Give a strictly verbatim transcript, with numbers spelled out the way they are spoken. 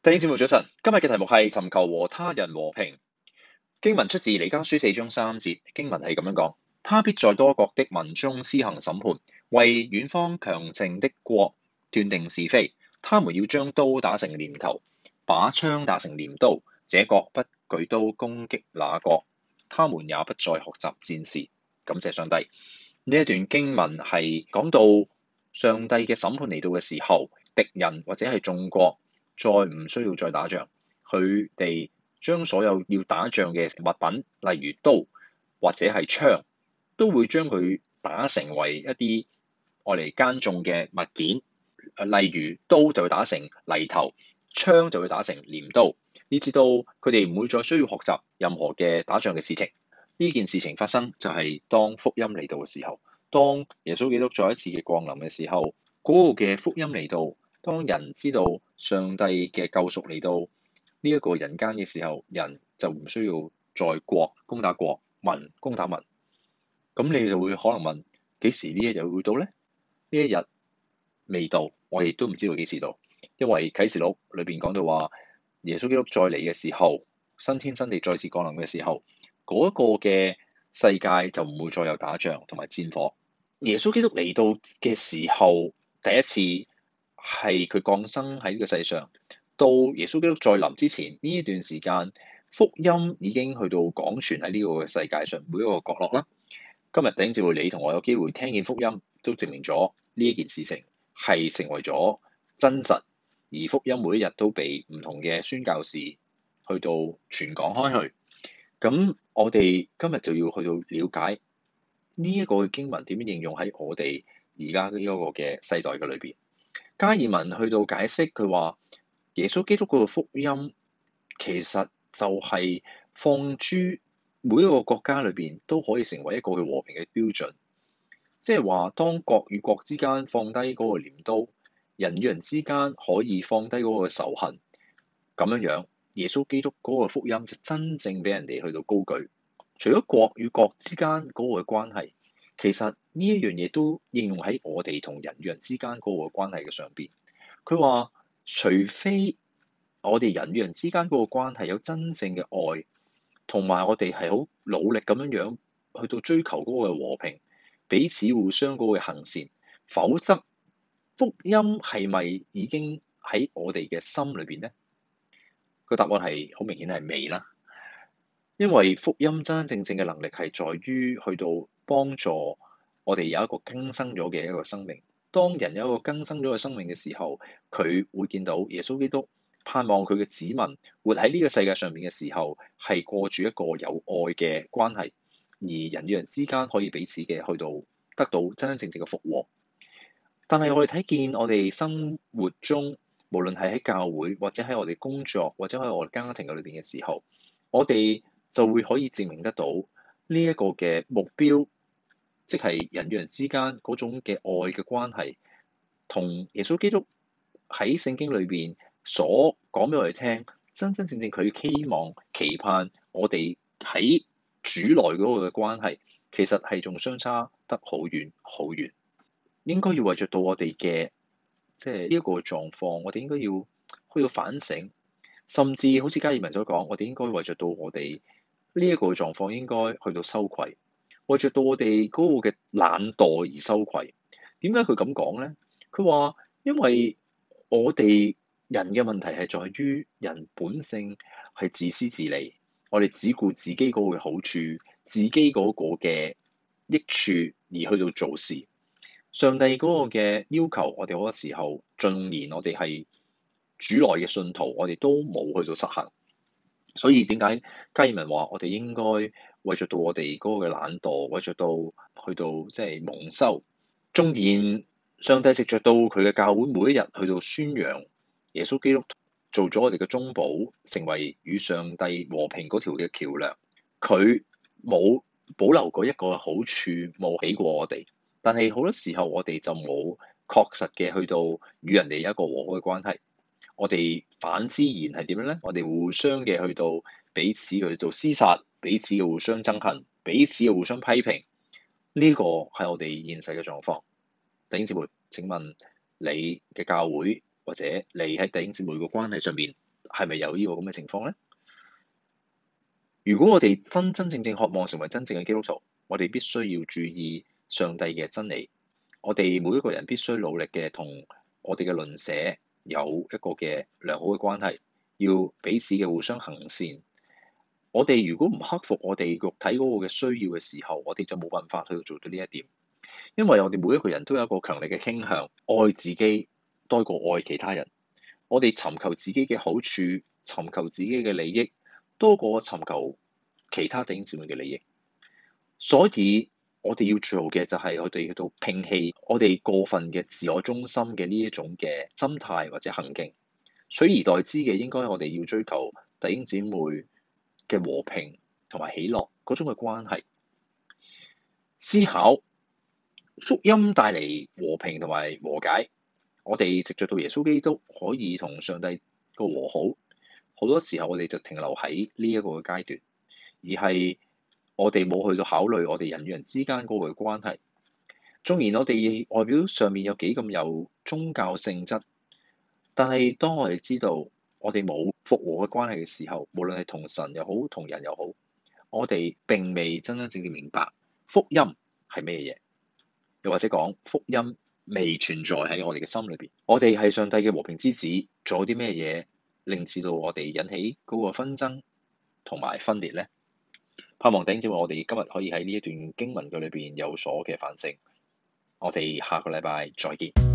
弟兄姊妹早晨，今日嘅題目係尋求和他人和平。經文出自彌迦書四章三節，經文係咁樣講：他必在多國的民中施行審判，為遠方強盛的國斷定是非。他們要將刀打成鐮頭，把槍打成鐮刀。這國不舉刀攻擊那國，他們也不再學習戰事。感謝上帝。呢一段經文係講到上帝嘅審判嚟到嘅時候，敵人或者係眾國再唔需要再打仗，佢哋將所有要打仗嘅物品，例如刀或者係槍，都會將佢打成為一啲愛嚟耕種嘅物件。例如刀就會打成犁頭，槍就會打成鐮刀，以至到佢哋唔會再需要學習任何嘅打仗嘅事情。呢件事情發生就係當福音嚟到嘅時候，當耶穌基督再一次嘅降臨嘅時候，嗰個嘅福音嚟到。當人知道上帝嘅救贖嚟到呢一個人間嘅時候，人就唔需要再國攻打國，民攻打民。咁你就會可能問：幾時呢一日會到呢？呢一日未到，我亦都唔知道幾時到，因為啟示錄裏邊講到話，耶穌基督再嚟嘅時候，新天新地再次降臨嘅時候，嗰一個嘅世界就唔會再有打仗同埋戰火。耶穌基督嚟到嘅時候，第一次係佢降生喺呢個世上，到耶穌基督再臨之前呢一段時間，福音已經去到廣傳喺呢個世界上每一個角落啦。今日弟兄姊妹，你同我有機會聽見福音，都證明咗呢一件事情係成為咗真實，而福音每一日都被唔同嘅宣教士去到傳講開去。咁我哋今日就要去到了解呢一個經文點樣應用喺我哋而家呢一個嘅世代嘅裏邊。加爾文去到解釋，佢話耶穌基督嗰個福音其實就係放諸每一個國家裏邊都可以成為一個嘅和平嘅標準，即係話當國與國之間放低嗰個鐮刀，人與人之間可以放低嗰個仇恨，咁樣樣耶穌基督嗰個福音就真正俾人哋去到高舉。除咗國與國之間嗰個嘅關係，其實呢一樣嘢都應用喺我哋同人與人之間嗰個關係嘅上邊。佢話，除非我哋人與人之間嗰個關係有真正嘅愛，同埋我哋係好努力咁樣樣去到追求嗰個和平，彼此互相嗰個行善，否則福音係咪已經喺我哋嘅心裏邊呢？個答案係好明顯係未啦。因為福音真真正正嘅能力係在於去到幫助我哋有一個更新咗嘅一個生命。當人有一個更新咗嘅生命嘅時候，佢會見到耶穌基督盼望佢嘅子民活喺呢個世界上面嘅時候，係過住一個有愛嘅關係，而人與人之間可以彼此嘅去到得到真真正正嘅復和。但係我哋睇見我哋生活中，無論係喺教會或者喺我哋工作或者喺我哋家庭嘅裏邊嘅時候，我哋就會可以證明得到呢一個嘅目標，即係人與人之間嗰種嘅愛嘅關係，同耶穌基督喺聖經裏邊所講俾我哋聽，真真正正佢希望期盼我哋喺主內嗰個嘅關係，其實係仲相差得好遠好遠。應該要為著到我哋嘅即係呢一個狀況，我哋應該要去到反省，甚至好似加爾文所講，我哋應該為著到我哋呢一個狀況應該去到羞愧，為著到我哋嗰個嘅懶惰而羞愧。點解佢咁講咧？佢話因為我哋人嘅問題係在於人本性係自私自利，我哋只顧自己嗰個嘅好處，自己嗰個嘅益處而去到做事。上帝嗰個嘅要求，我哋好多時候縱然我哋係主內嘅信徒，我哋都冇去到實行。所以點解加爾文話我哋應該為著到我哋嗰個嘅懶惰，為著到去到即係蒙羞。縱然上帝藉著到佢嘅教會每一日去到宣揚耶穌基督做咗我哋嘅中保，成為與上帝和平嗰條嘅橋樑，佢冇保留過一個好處，冇起過我哋。但係好多時候我哋就冇確實嘅去到與人哋有一個和好嘅關係。我哋反之然係點樣咧？我哋互相嘅去到彼此去做廝殺，彼此嘅互相憎恨，彼此嘅互相批評。呢個係我哋現實嘅狀況。弟兄姊妹，請問你嘅教會或者你喺弟兄姊妹嘅關係上面係咪有呢個咁嘅情況咧？如果我哋真真正正渴望成為真正嘅基督徒，我哋必須要注意上帝嘅真理。我哋每一個人必須努力嘅同我哋嘅鄰舍有一個嘅良好嘅關係，要彼此嘅互相行善。我哋如果唔克服我哋肉體嗰個嘅需要嘅時候，我哋就冇辦法去做到呢一點。因為我哋每一個人都有一個強烈嘅傾向，愛自己多過愛其他人。我哋尋求自己嘅好處，尋求自己嘅利益，多過尋求其他弟兄姊妹嘅利益。所以我哋要做嘅就係我哋去到摒棄我哋過分嘅自我中心嘅呢一種嘅心態或者行徑，取而代之嘅應該我哋要追求弟兄姊妹嘅和平同埋喜樂嗰種嘅關係。思考福音帶嚟和平同埋和解，我哋藉著到耶穌基督可以同上帝個和好。好多時候我哋就停留喺呢一個嘅階段，而係我哋冇去到考慮我哋人與人之間嗰個關係。縱然我哋外表上面有幾咁有宗教性質，但係當我哋知道我哋冇復和嘅關係嘅時候，無論係同神又好，同人又好，我哋並未真真正正明白福音係咩嘢，又或者講福音未存在喺我哋嘅心裏邊。我哋係上帝嘅和平之子，做啲咩嘢令至到我哋引起嗰個紛爭同埋分裂咧？盼望弟兄姊妹，我哋今日可以喺呢一段經文嘅裏邊有所嘅反省。我哋下個禮拜再見。